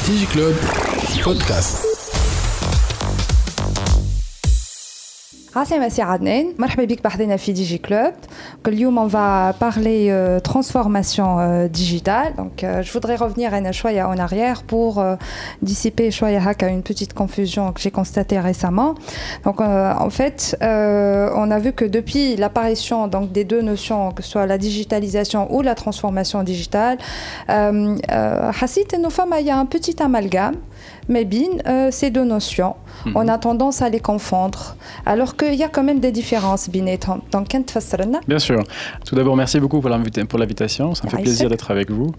DigiClub Podcast. عسلامة سي عدنان، مرحبا بك بحضنا في ديجي كلوب. اليوم on va parler transformation digitale. Donc je voudrais revenir un choya en arrière pour dissiper choya haka une petite confusion que j'ai constatée récemment. Donc en fait, on a vu que depuis l'apparition donc des deux notions, que ce soit la digitalisation ou la transformation digitale, حسيت إنه il y a un petit amalgame mais bien ces deux notions. On a tendance à les confondre, alors qu'il y a quand même des différences. Donc, bien sûr. Tout d'abord, merci beaucoup pour l'invitation. Ça me fait plaisir d'être avec vous.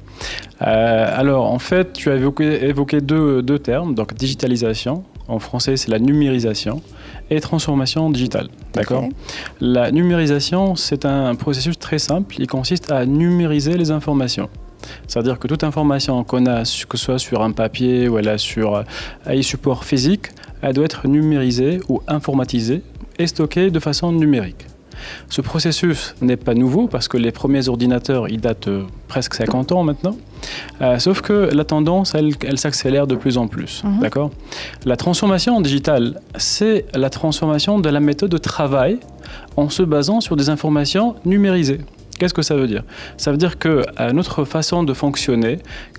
Alors, en fait, tu as évoqué deux termes. Donc, digitalisation. En français, c'est la numérisation. Et transformation digitale. D'accord ? La numérisation, c'est un processus très simple. Il consiste à numériser les informations. C'est-à-dire que toute information qu'on a, que ce soit sur un papier ou sur un support physique, elle doit être numérisée ou informatisée et stockée de façon numérique. Ce processus n'est pas nouveau parce que les premiers ordinateurs, ils datent presque 50 ans maintenant. Sauf que la tendance, elle s'accélère de plus en plus. D'accord ? La transformation digitale, c'est la transformation de la méthode de travail en se basant sur des informations numérisées. Qu'est-ce que ça veut dire ? Ça veut dire que notre façon de fonctionner,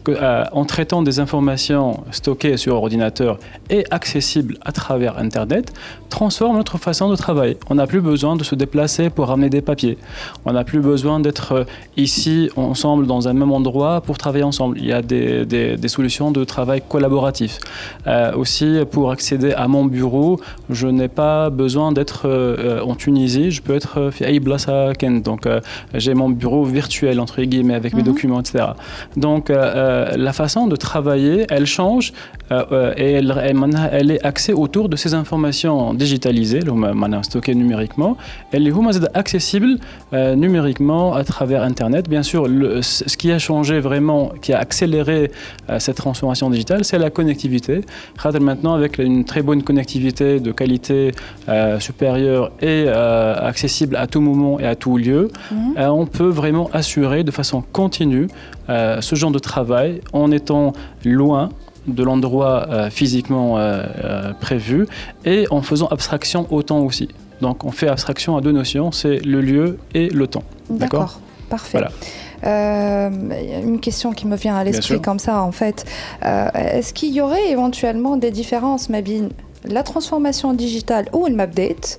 en traitant des informations stockées sur ordinateur et accessibles à travers Internet, transforme notre façon de travailler. On n'a plus besoin de se déplacer pour ramener des papiers. On n'a plus besoin d'être ici ensemble dans un même endroit pour travailler ensemble. Il y a des solutions de travail collaboratif. Aussi, pour accéder à mon bureau, je n'ai pas besoin d'être en Tunisie. Je peux être à Ibla Ken. Donc, j'ai mon bureau virtuel, entre guillemets, avec mes documents, etc. Donc, la façon de travailler, elle change et elle est axée autour de ces informations digitalisées, stockées numériquement. Elle est accessible numériquement à travers Internet. Bien sûr, ce qui a changé vraiment, qui a accéléré cette transformation digitale, c'est la connectivité. Maintenant, avec une très bonne connectivité de qualité supérieure et accessible à tout moment et à tout lieu, on peut vraiment assurer de façon continue ce genre de travail en étant loin de l'endroit physiquement prévu et en faisant abstraction au temps aussi. Donc on fait abstraction à deux notions, c'est le lieu et le temps. D'accord, parfait. Voilà. Une question qui me vient à l'esprit comme ça en fait, est-ce qu'il y aurait éventuellement des différences la transformation digitale ou le mapdate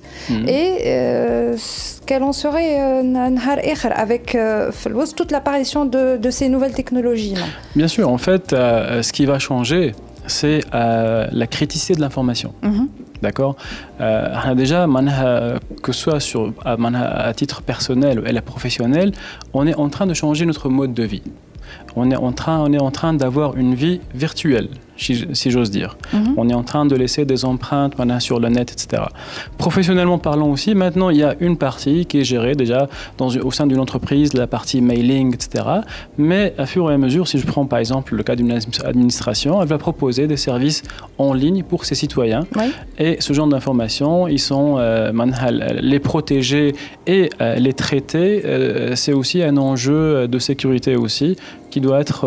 et quel en serait avec toute l'apparition de ces nouvelles technologies. Bien sûr, en fait, ce qui va changer, c'est la criticité de l'information. D'accord. Déjà, que ce soit à titre personnel ou professionnel, on est en train de changer notre mode de vie. On est en train d'avoir une vie virtuelle, si j'ose dire. On est en train de laisser des empreintes sur le net, etc. Professionnellement parlant aussi, maintenant, il y a une partie qui est gérée déjà au sein d'une entreprise, la partie mailing, etc. Mais à fur et à mesure, si je prends par exemple le cas d'une administration, elle va proposer des services en ligne pour ses citoyens. Et ce genre d'informations, ils sont les protéger et les traiter. C'est aussi un enjeu de sécurité aussi qui doit être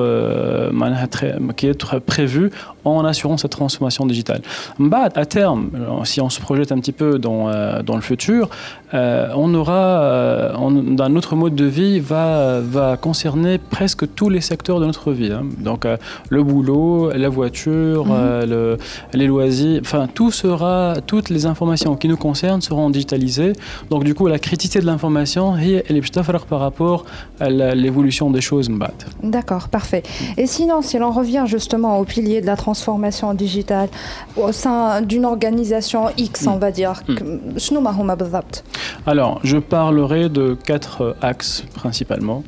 prévu en assurant cette transformation digitale. À terme, si on se projette un petit peu dans le futur, on aura notre mode de vie va concerner presque tous les secteurs de notre vie. Donc le boulot, la voiture, les loisirs, enfin toutes les informations qui nous concernent seront digitalisées. Donc du coup la criticité de l'information, elle est par rapport à l'évolution des choses. D'accord, parfait. Et sinon, si l'on revient justement au pilier de la transformation digitale au sein d'une organisation X, on va dire, alors, je parlerai de 4 axes principalement.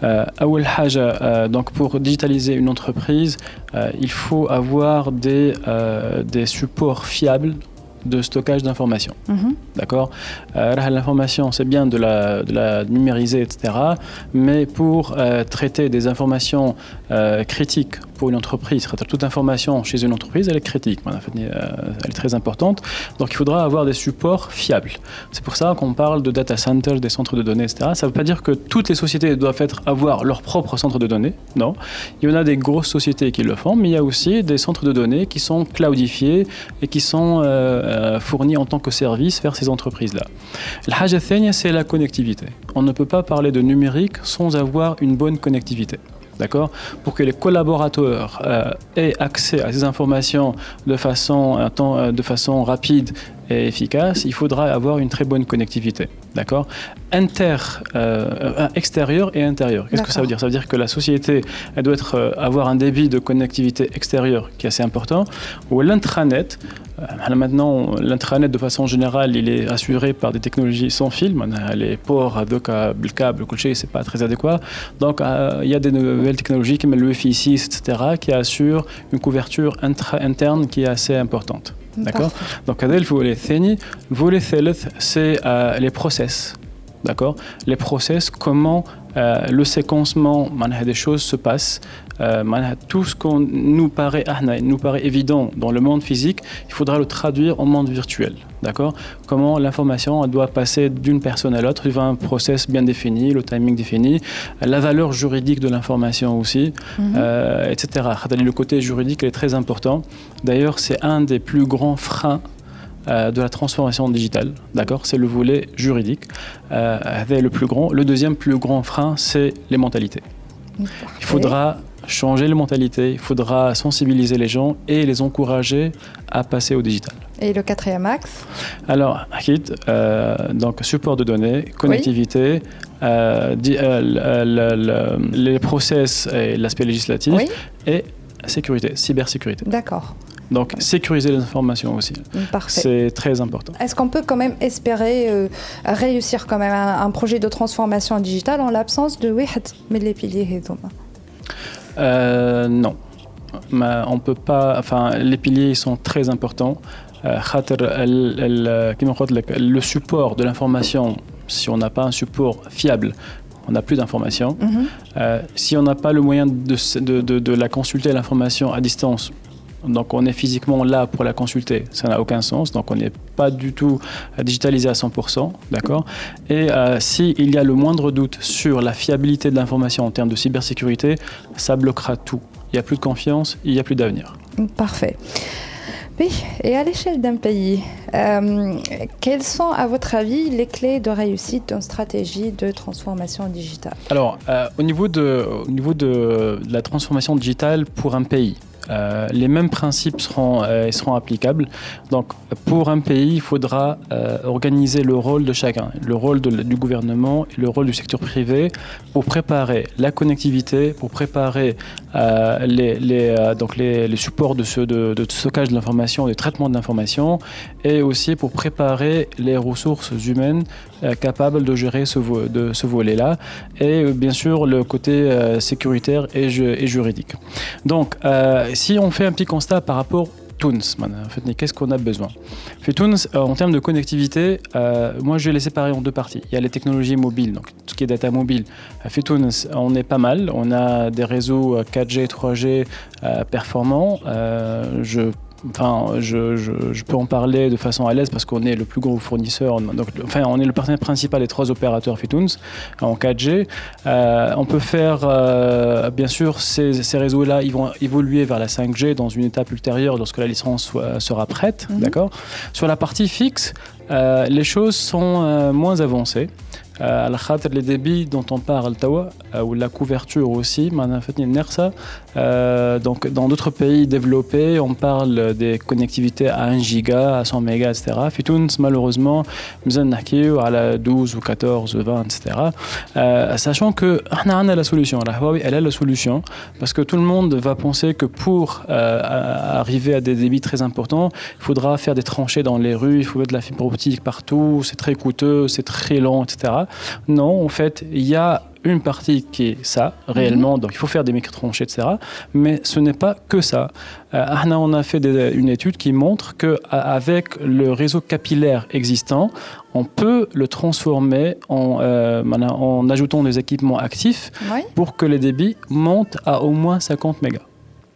Donc pour digitaliser une entreprise, il faut avoir des supports fiables de stockage d'informations. D'accord. L'information, c'est bien de la numériser, etc. Mais pour traiter des informations critiques pour une entreprise, toute information chez une entreprise, elle est critique, elle est très importante. Donc il faudra avoir des supports fiables. C'est pour ça qu'on parle de data centers, des centres de données, etc. Ça ne veut pas dire que toutes les sociétés doivent avoir leur propre centre de données. Non. Il y en a des grosses sociétés qui le font, mais il y a aussi des centres de données qui sont cloudifiés et qui sont fournis en tant que service vers ces entreprises-là. La haja thania, c'est la connectivité. On ne peut pas parler de numérique sans avoir une bonne connectivité. D'accord ? Pour que les collaborateurs aient accès à ces informations de façon rapide et efficace, il faudra avoir une très bonne connectivité. D'accord ? Extérieur et intérieur. Qu'est-ce que ça veut dire ? Ça veut dire que la société, elle doit avoir un débit de connectivité extérieure qui est assez important. Ou l'intranet. Maintenant, l'intranet, de façon générale, il est assuré par des technologies sans fil. Les ports, le câble, c'est pas très adéquat. Donc, il y a des nouvelles technologies comme le Wi-Fi 6, etc., qui assurent une couverture interne qui est assez importante. D'accord ? Donc, le volet ثالث, c'est les process. D'accord ? Les process, comment le séquencement des choses se passe. Tout ce qu'on nous paraît évident dans le monde physique, il faudra le traduire en monde virtuel. D'accord ? Comment l'information doit passer d'une personne à l'autre, il y a un process bien défini, le timing défini, la valeur juridique de l'information aussi, etc. Le côté juridique est très important. D'ailleurs, c'est un des plus grands freins de la transformation digitale, d'accord ? C'est le volet juridique, le plus grand. Le deuxième plus grand frein, c'est les mentalités. Il faudra changer les mentalités, il faudra sensibiliser les gens et les encourager à passer au digital. Et le quatrième axe ? Alors, donc support de données, connectivité, les process et l'aspect législatif, et sécurité, cybersécurité. D'accord. Donc, sécuriser les informations aussi. Parfait. C'est très important. Est-ce qu'on peut quand même espérer réussir quand même un projet de transformation digitale en l'absence de les piliers ? Non. On peut pas. Enfin, les piliers sont très importants. Le support de l'information, si on n'a pas un support fiable, on n'a plus d'informations. Si on n'a pas le moyen de la consulter, l'information à distance, donc on est physiquement là pour la consulter, ça n'a aucun sens, donc on n'est pas du tout digitalisé à 100%, d'accord ? Et s'il y a le moindre doute sur la fiabilité de l'information en termes de cybersécurité, ça bloquera tout. Il n'y a plus de confiance, il n'y a plus d'avenir. Parfait. Oui, et à l'échelle d'un pays, quelles sont, à votre avis, les clés de réussite d'une stratégie de transformation digitale ? Alors, au niveau de la transformation digitale pour un pays, les mêmes principes seront applicables. Donc, pour un pays, il faudra organiser le rôle de chacun, le rôle du gouvernement et le rôle du secteur privé pour préparer la connectivité, pour préparer les supports de stockage de l'information, de traitement de l'information, et aussi pour préparer les ressources humaines capables de gérer ce volet-là, et bien sûr le côté sécuritaire et juridique. Donc, si on fait un petit constat par rapport Tunis, qu'est-ce qu'on a besoin ? Tunis, en termes de connectivité, moi je vais les séparer en deux parties. Il y a les technologies mobiles, donc tout ce qui est data mobile. Tunis, on est pas mal, on a des réseaux 4G, 3G performants. Je peux en parler de façon à l'aise parce qu'on est le plus gros fournisseur. On est le partenaire principal des 3 opérateurs Fitunes en 4G. On peut faire, bien sûr, ces réseaux-là, ils vont évoluer vers la 5G dans une étape ultérieure lorsque la licence sera prête. D'accord ? Sur la partie fixe, les choses sont moins avancées. Les débits dont on parle, ou la couverture aussi, donc dans d'autres pays développés, on parle des connectivités à 1 giga, à 100 mégas, etc. Fi Tunis, malheureusement, nous avons à la 12 ou 14 ou 20, etc. Sachant que on a la solution, la Huawei, elle a la solution, parce que tout le monde va penser que pour arriver à des débits très importants, il faudra faire des tranchées dans les rues, il faut mettre de la fibre optique partout, c'est très coûteux, c'est très lent, etc. Non, en fait, il y a une partie qui est ça, réellement, donc il faut faire des micro-tranchées, etc. Mais ce n'est pas que ça. On a fait une étude qui montre qu'avec le réseau capillaire existant, on peut le transformer en ajoutant des équipements actifs pour que les débits montent à au moins 50 mégas. D'accord ?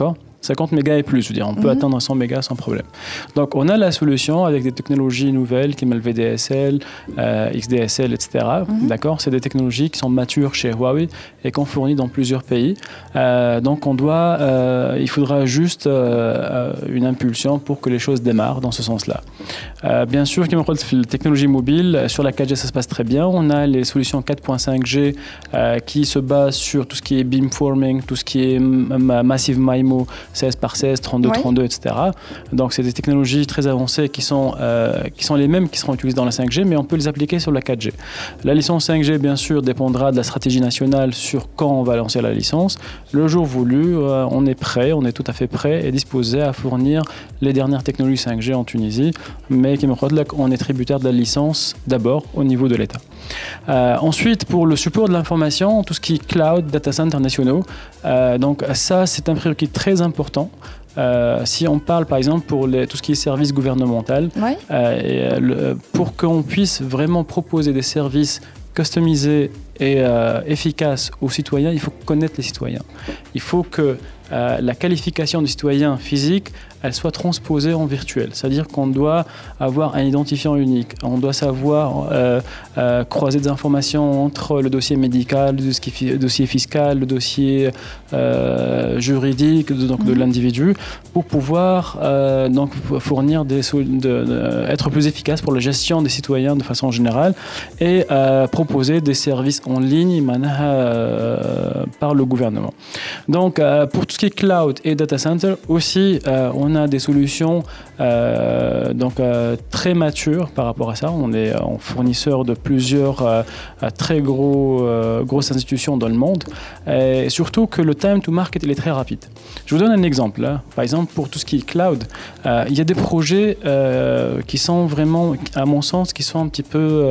50 mégas et plus, je veux dire, on peut atteindre 100 mégas sans problème. Donc, on a la solution avec des technologies nouvelles comme le VDSL, XDSL, etc. D'accord ? C'est des technologies qui sont matures chez Huawei et qu'on fournit dans plusieurs pays. Donc, il faudra juste une impulsion pour que les choses démarrent dans ce sens-là. Bien sûr, comme on dit, la technologie mobile, sur la 4G, ça se passe très bien. On a les solutions 4.5G qui se basent sur tout ce qui est beamforming, tout ce qui est Massive MIMO, 16 par 16, 32, 32, etc. Donc, c'est des technologies très avancées qui sont les mêmes qui seront utilisées dans la 5G, mais on peut les appliquer sur la 4G. La licence 5G, bien sûr, dépendra de la stratégie nationale sur quand on va lancer la licence. Le jour voulu, on est prêt, on est tout à fait prêt et disposé à fournir les dernières technologies 5G en Tunisie, mais on est tributaire de la licence d'abord au niveau de l'État. Ensuite, pour le support de l'information, tout ce qui est cloud, data centers nationaux, donc ça, c'est un prérequis très important. Si on parle par exemple pour tout ce qui est service gouvernemental, pour qu'on puisse vraiment proposer des services customisés et efficaces aux citoyens, il faut connaître les citoyens. Il faut que la qualification du citoyen physique, elle soit transposée en virtuel. C'est-à-dire qu'on doit avoir un identifiant unique. On doit savoir croiser des informations entre le dossier médical, le dossier fiscal, le dossier juridique de l'individu pour pouvoir donc fournir être plus efficace pour la gestion des citoyens de façon générale et proposer des services en ligne par le gouvernement. Donc, pour tout ce qui est cloud et data center, aussi, on a des solutions très matures par rapport à ça. On est fournisseur de plusieurs très grosses institutions dans le monde. Et surtout que le time to market, il est très rapide. Je vous donne un exemple. Là. Par exemple, pour tout ce qui est cloud, il y a des projets qui sont vraiment, à mon sens, qui sont un petit peu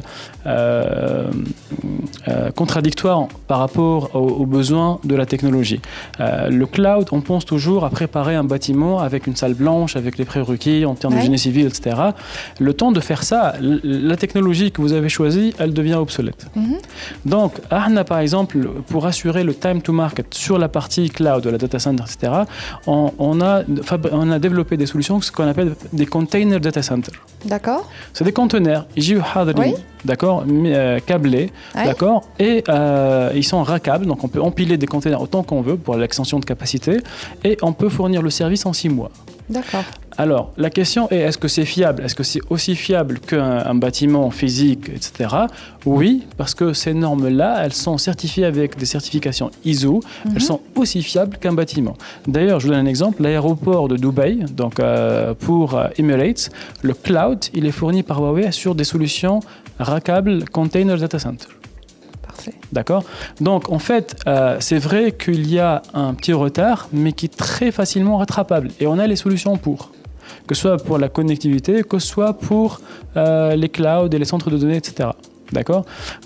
contradictoires par rapport aux besoins de la technologie. Le cloud, on pense toujours à préparer un bâtiment avec une salle blanche, avec les prérequis en termes de génie civil, etc. Le temps de faire ça, la technologie que vous avez choisie, elle devient obsolète. Donc, par exemple, pour assurer le time to market sur la partie cloud, de la data center, etc., on a développé des solutions, ce qu'on appelle des container data center. D'accord. C'est des conteneurs, d'accord, câblés, d'accord, et ils sont rackables, donc on peut empiler des conteneurs autant qu'on veut pour l'extension de capacité, et on peut fournir le service en 6 mois. D'accord. Alors, la question est, est-ce que c'est fiable ? Est-ce que c'est aussi fiable qu'un bâtiment physique, etc. Oui, parce que ces normes-là, elles sont certifiées avec des certifications ISO. Elles sont aussi fiables qu'un bâtiment. D'ailleurs, je vous donne un exemple. L'aéroport de Dubaï, donc pour Emirates, le cloud, il est fourni par Huawei sur des solutions rackables Container Data Center. D'accord ? Donc, en fait, c'est vrai qu'il y a un petit retard, mais qui est très facilement rattrapable. Et on a les solutions pour. Que ce soit pour la connectivité, que ce soit pour les clouds et les centres de données, etc. D'accord ?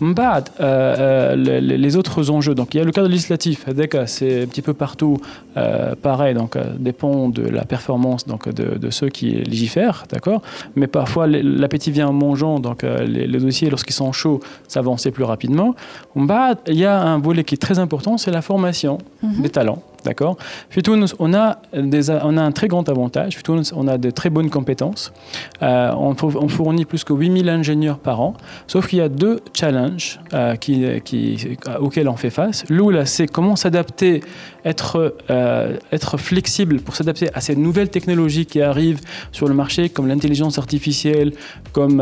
Les autres enjeux. Donc, il y a le cadre législatif. C'est un petit peu partout pareil. Donc, dépend de la performance de ceux qui légifèrent. D'accord ? Mais parfois, l'appétit vient en mangeant. Donc, les dossiers, lorsqu'ils sont chauds, s'avancent plus rapidement. Il y a un volet qui est très important, c'est la formation des talents. D'accord. Fitounes, on a un très grand avantage. Fitounes, on a de très bonnes compétences. On fournit plus que 8000 ingénieurs par an. Sauf qu'il y a 2 challenges auxquels on fait face. L'un, c'est comment s'adapter, être flexible pour s'adapter à ces nouvelles technologies qui arrivent sur le marché, comme l'intelligence artificielle, comme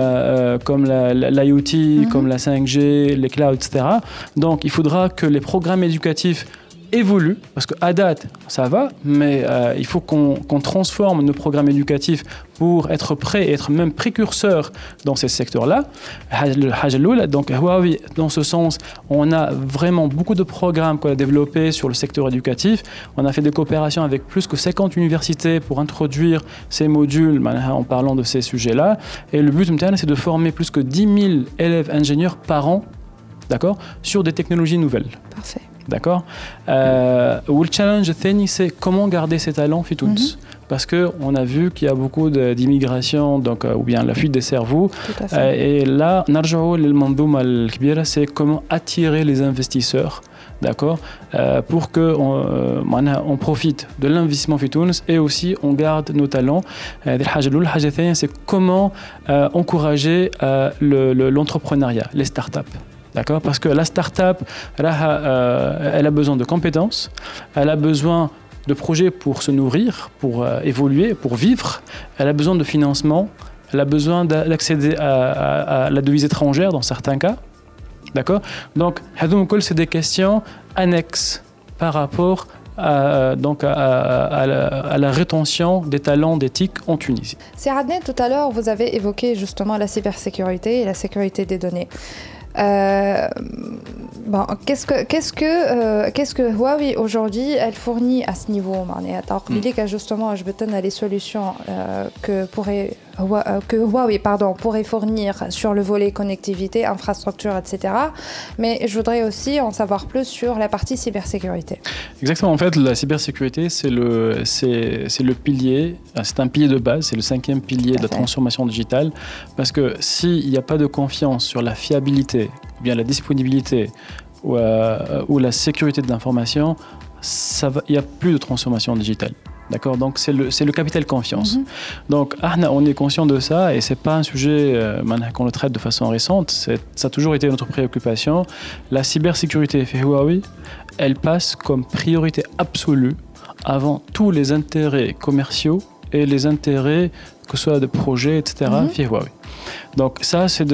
l'IoT, comme la 5G, les clouds, etc. Donc, il faudra que les programmes éducatifs évolue, parce qu'à date, ça va, mais il faut qu'on transforme nos programmes éducatifs pour être prêt et être même précurseur dans ces secteurs-là. Donc, Huawei, dans ce sens, on a vraiment beaucoup de programmes qu'on a développés sur le secteur éducatif. On a fait des coopérations avec plus que 50 universités pour introduire ces modules en parlant de ces sujets-là. Et le but, c'est de former plus que 10 000 élèves ingénieurs par an, d'accord, sur des technologies nouvelles. Parfait. D'accord. Le challenge, c'est comment garder ces talents في تونس. Parce qu'on a vu qu'il y a beaucoup d'immigration, donc, ou bien la fuite des cerveaux. Et là, c'est comment attirer les investisseurs, d'accord, pour qu'on profite de l'investissement في تونس et aussi on garde nos talents. C'est comment encourager l'entrepreneuriat, les startups. D'accord, parce que la start-up, elle a besoin de compétences, elle a besoin de projets pour se nourrir, pour évoluer, pour vivre, elle a besoin de financement, elle a besoin d'accéder à la devise étrangère dans certains cas. D'accord, donc, c'est des questions annexes par rapport à la rétention des talents d'éthique en Tunisie. C'est Adnan, tout à l'heure, vous avez évoqué justement la cybersécurité et la sécurité des données. Bon, qu'est-ce que Huawei aujourd'hui elle fournit à ce niveau? Justement, je vais les solutions que Huawei pourrait fournir sur le volet connectivité, infrastructure, etc. Mais je voudrais aussi en savoir plus sur la partie cybersécurité. Exactement. En fait, la cybersécurité, c'est le pilier, c'est un pilier de base, c'est le 5e pilier de la transformation digitale. Parce que s'il n'y a pas de confiance sur la fiabilité, ou bien la disponibilité ou la sécurité de l'information, il n'y a plus de transformation digitale. D'accord, donc c'est le capital confiance. Donc on est conscient de ça et c'est pas un sujet qu'on le traite de façon récente. Ça a toujours été notre préoccupation. La cybersécurité chez Huawei, elle passe comme priorité absolue avant tous les intérêts commerciaux et les intérêts que ce soit de projets, etc. chez Huawei. Donc ça, c'est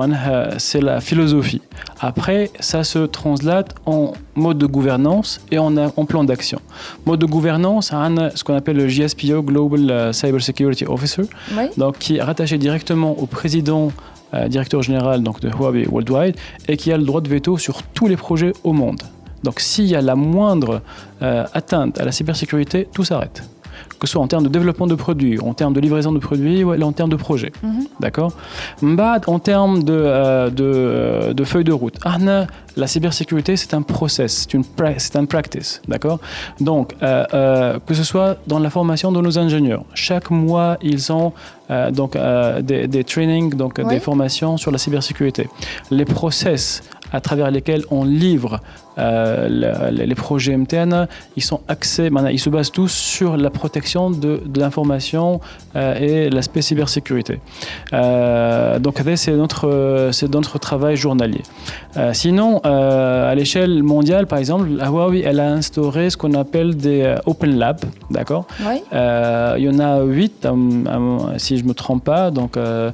la philosophie. Après, ça se translate en mode de gouvernance et en plan d'action. Mode de gouvernance, on a ce qu'on appelle le GSPO, Global Cyber Security Officer, donc, qui est rattaché directement au président, directeur général donc, de Huawei Worldwide, et qui a le droit de veto sur tous les projets au monde. Donc s'il y a la moindre atteinte à la cybersécurité, tout s'arrête. Que ce soit en termes de développement de produits, en termes de livraison de produits ou en termes de projets. D'accord. En termes de feuille de route, la cybersécurité, c'est un process, c'est un practice. D'accord. Donc, que ce soit dans la formation de nos ingénieurs, chaque mois, ils ont des trainings, des formations sur la cybersécurité. Les process à travers lesquels on livre les projets MTN, ils sont axés, ils se basent tous sur la protection de l'information et l'aspect cybersécurité. Donc c'est notre travail journalier. Sinon, à l'échelle mondiale, par exemple, Huawei, elle a instauré ce qu'on appelle des Open Labs, d'accord. Il y en a 8, si je ne me trompe pas. Donc,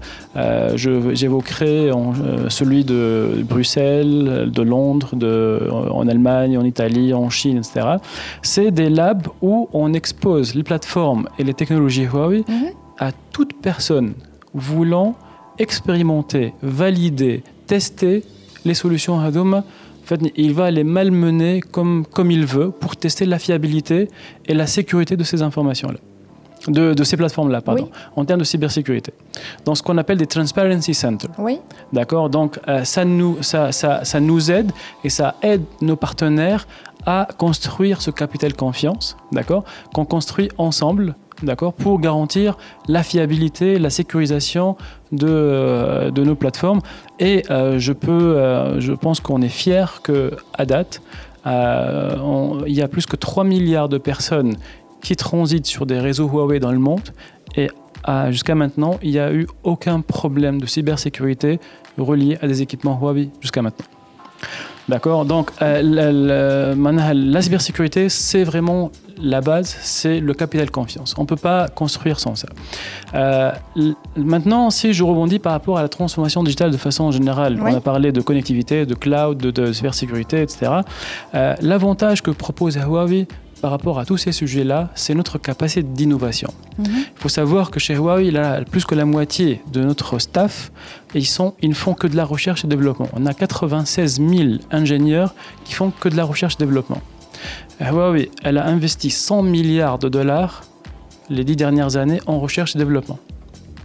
j'évoquerai celui de Bruxelles, de Londres, en Allemagne, en Italie, en Chine, etc. C'est des labs où on expose les plateformes et les technologies Huawei à toute personne voulant expérimenter, valider, tester les solutions Hadoum. En fait, il va les malmener comme il veut pour tester la fiabilité et la sécurité de ces informations-là. De ces plateformes-là, en termes de cybersécurité. Dans ce qu'on appelle des Transparency Centers. D'accord. Donc, ça nous aide et ça aide nos partenaires à construire ce capital confiance, d'accord, qu'on construit ensemble, d'accord, pour garantir la fiabilité, la sécurisation de nos plateformes. Et je pense qu'on est fiers qu'à date, il y a plus que 3 milliards de personnes qui transitent sur des réseaux Huawei dans le monde et jusqu'à maintenant, il n'y a eu aucun problème de cybersécurité relié à des équipements Huawei jusqu'à maintenant. D'accord. Donc, la cybersécurité, c'est vraiment la base, c'est le capital confiance. On ne peut pas construire sans ça. Maintenant, si je rebondis par rapport à la transformation digitale de façon générale, on a parlé de connectivité, de cloud, de cybersécurité, etc. L'avantage que propose Huawei par rapport à tous ces sujets-là, c'est notre capacité d'innovation. Il faut savoir que chez Huawei, là, plus que la moitié de notre staff, ils ne font que de la recherche et développement. On a 96 000 ingénieurs qui font que de la recherche et développement. Huawei, elle a investi 100 milliards de dollars les 10 dernières années en recherche et développement. D'accord ?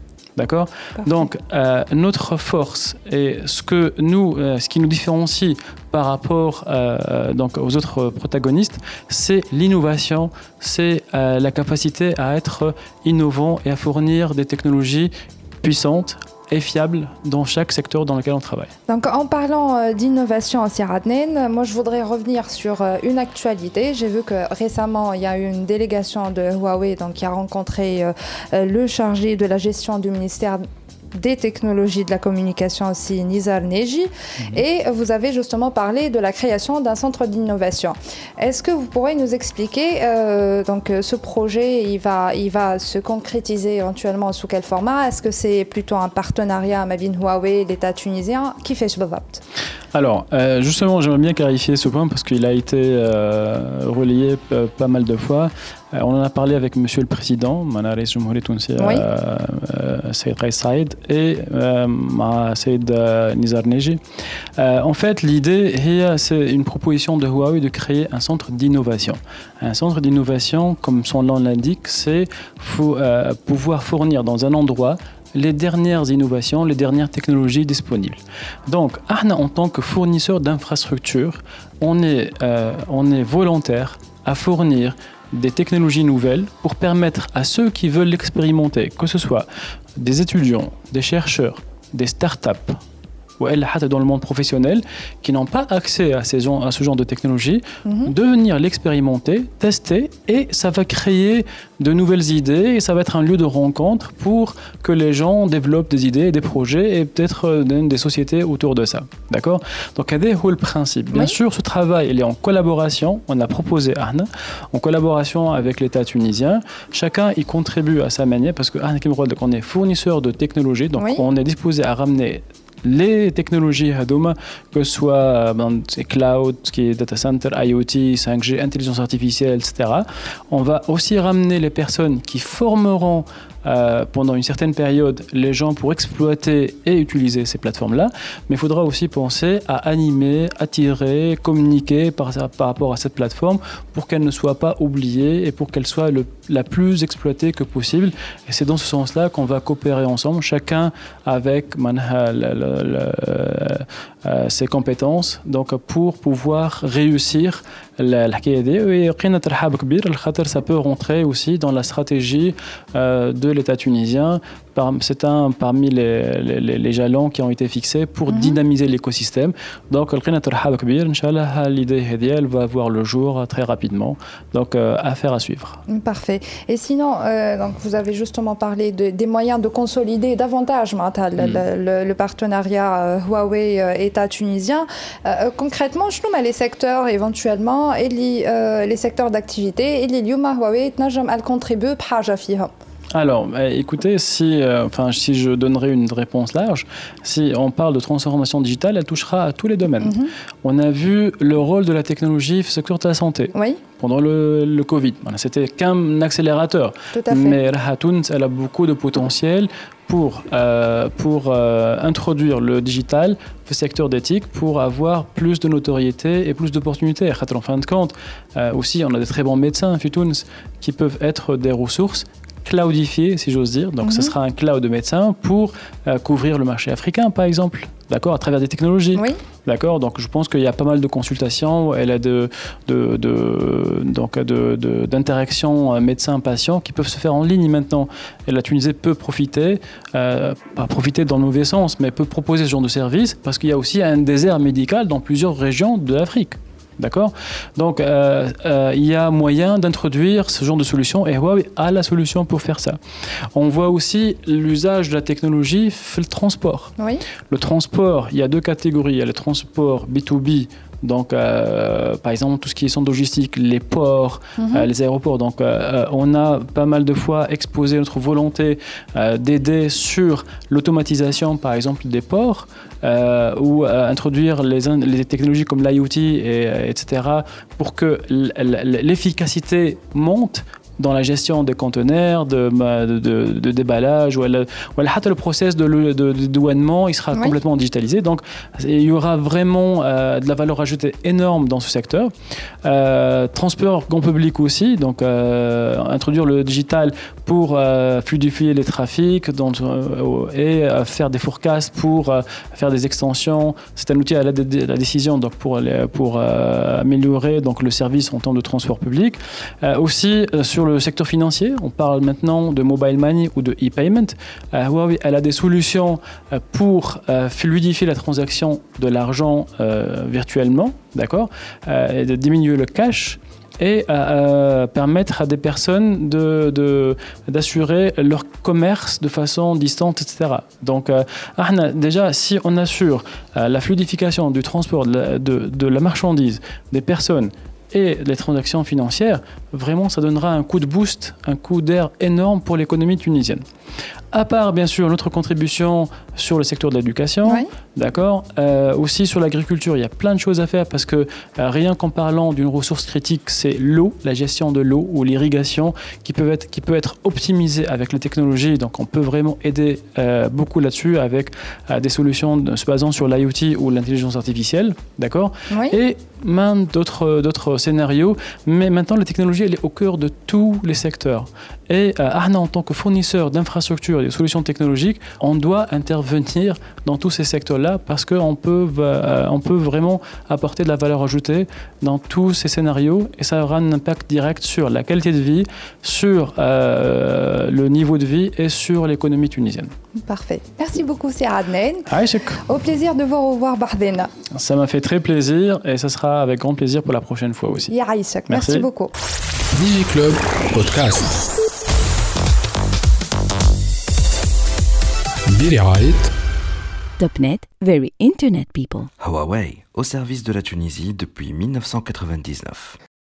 Donc, notre force et ce qui nous différencie par rapport donc aux autres protagonistes, c'est l'innovation, c'est la capacité à être innovant et à fournir des technologies puissantes et fiable dans chaque secteur dans lequel on travaille. Donc en parlant d'innovation aussi Adnan, moi je voudrais revenir sur une actualité. J'ai vu que récemment il y a eu une délégation de Huawei qui a rencontré le chargé de la gestion du ministère des technologies de la communication aussi, Nizar Neji, et vous avez justement parlé de la création d'un centre d'innovation. Est-ce que vous pourrez nous expliquer ce projet, il va se concrétiser éventuellement sous quel format? Est-ce que c'est plutôt un partenariat avec Huawei, l'État tunisien? Qui fait ce بالضبط? Alors, justement, j'aimerais bien clarifier ce point parce qu'il a été relayé pas mal de fois. On en a parlé avec Monsieur le Président, Rئيس الجمهورية التونسية Saïd Kais Saïd et Saïd Nizar Neji. En fait, l'idée, c'est une proposition de Huawei de créer un centre d'innovation. Un centre d'innovation, comme son nom l'indique, c'est pouvoir fournir dans un endroit les dernières innovations, les dernières technologies disponibles. Donc, en tant que fournisseur d'infrastructures, on est volontaire à fournir des technologies nouvelles pour permettre à ceux qui veulent l'expérimenter, que ce soit des étudiants, des chercheurs, des startups, ou dans le monde professionnel, qui n'ont pas accès à ce genre de technologie, de venir l'expérimenter, tester, et ça va créer de nouvelles idées, et ça va être un lieu de rencontre pour que les gens développent des idées, des projets, et peut-être des sociétés autour de ça. D'accord ? Donc, c'est le principe. Bien sûr, ce travail, il est en collaboration, on a proposé Arna, en collaboration avec l'État tunisien. Chacun y contribue à sa manière, parce qu'on est fournisseur de technologies, donc on est disposé à ramener les technologies Hadoma, que ce soit cloud, qui est data center, IoT, 5G, intelligence artificielle, etc. On va aussi ramener les personnes qui formeront pendant une certaine période les gens pour exploiter et utiliser ces plateformes-là. Mais il faudra aussi penser à animer, attirer, communiquer par rapport à cette plateforme pour qu'elle ne soit pas oubliée et pour qu'elle soit la plus exploitée que possible. Et c'est dans ce sens-là qu'on va coopérer ensemble, chacun avec ses compétences, donc pour pouvoir réussir الحكايه دي. ويقينا ترحاب كبير الخاطر ça peut rentrer aussi dans la stratégie de l'État tunisien. C'est un parmi les jalons qui ont été fixés pour dynamiser l'écosystème. Donc لقينا ترحاب كبير ان شاء الله. L'idée هذه elle va voir le jour très rapidement. Donc affaire à suivre. Parfait. Et sinon donc vous avez justement parlé des moyens de consolider davantage le partenariat Huawei État tunisien. Concrètement, je nous mets les secteurs éventuellement et les secteurs d'activité et les Yuma Huawei تنجم elle contribue بحاجة فيهم. Alors, écoutez, si je donnerais une réponse large, si on parle de transformation digitale, elle touchera à tous les domaines. On a vu le rôle de la technologie au secteur de la santé. Oui. Pendant le Covid. C'était qu'un accélérateur. Tout à fait. Mais Rahatoun, elle a beaucoup de potentiel pour introduire le digital au secteur d'éthique pour avoir plus de notoriété et plus d'opportunités. En fin de compte, aussi, on a des très bons médecins qui peuvent être des ressources cloudifié, si j'ose dire. Donc, ce sera un cloud de médecins pour couvrir le marché africain, par exemple, d'accord, à travers des technologies. Oui. D'accord. Donc, je pense qu'il y a pas mal de consultations, elle a d'interactions médecins-patients qui peuvent se faire en ligne maintenant. Et la Tunisie peut profiter, pas profiter dans le mauvais sens, mais peut proposer ce genre de service parce qu'il y a aussi un désert médical dans plusieurs régions de l'Afrique. D'accord ? Donc, il y a moyen d'introduire ce genre de solution et Huawei a la solution pour faire ça. On voit aussi l'usage de la technologie dans le transport. Oui. Le transport, il y a deux catégories. Il y a le transport B2B Donc, par exemple, tout ce qui est centre logistique, les ports, les aéroports. Donc, on a pas mal de fois exposé notre volonté d'aider sur l'automatisation, par exemple, des ports, ou introduire les technologies comme l'IoT, etc., pour que l'efficacité monte dans la gestion des conteneurs, de déballage, ou le process de douanement, il sera complètement digitalisé. Donc, il y aura vraiment de la valeur ajoutée énorme dans ce secteur. Transport grand public aussi, donc introduire le digital pour fluidifier les trafics et faire des forecasts pour faire des extensions. C'est un outil à la décision donc pour améliorer donc, le service en temps de transport public. Aussi, sur le secteur financier, on parle maintenant de mobile money ou de e-payment. Huawei, elle a des solutions pour fluidifier la transaction de l'argent virtuellement, d'accord, et de diminuer le cash et permettre à des personnes d'assurer leur commerce de façon distante, etc. Donc, déjà, si on assure la fluidification du transport de la marchandise, des personnes et les transactions financières, vraiment, ça donnera un coup de boost, un coup d'air énorme pour l'économie tunisienne. À part, bien sûr, notre contribution sur le secteur de l'éducation, d'accord, aussi sur l'agriculture, il y a plein de choses à faire parce que rien qu'en parlant d'une ressource critique, c'est l'eau, la gestion de l'eau ou l'irrigation qui peut être optimisée avec les technologies. Donc, on peut vraiment aider beaucoup là-dessus avec des solutions se basant sur l'IoT ou l'intelligence artificielle, d'accord, et même d'autres scénarios. Mais maintenant, la technologie, elle est au cœur de tous les secteurs. Et en tant que fournisseur d'infrastructures et de solutions technologiques, on doit intervenir dans tous ces secteurs-là parce qu'on peut vraiment apporter de la valeur ajoutée dans tous ces scénarios et ça aura un impact direct sur la qualité de vie, sur le niveau de vie et sur l'économie tunisienne. Parfait. Merci beaucoup, Sir Adnan. Aïchek. Au plaisir de vous revoir, Bahdena. Ça m'a fait très plaisir et ça sera avec grand plaisir pour la prochaine fois aussi. Ya Aïchek. Merci beaucoup. DigiClub Podcast. Topnet, very internet people. Huawei, au service de la Tunisie depuis 1999.